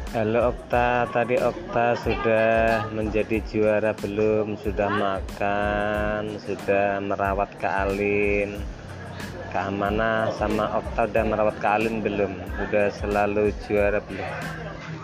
Halo Okta, tadi Okta sudah menjadi juara belum? Sudah makan, sudah merawat Kak Alin. Kak Amanah sama Okta udah merawat Kak Alin belum? Udah selalu juara belum?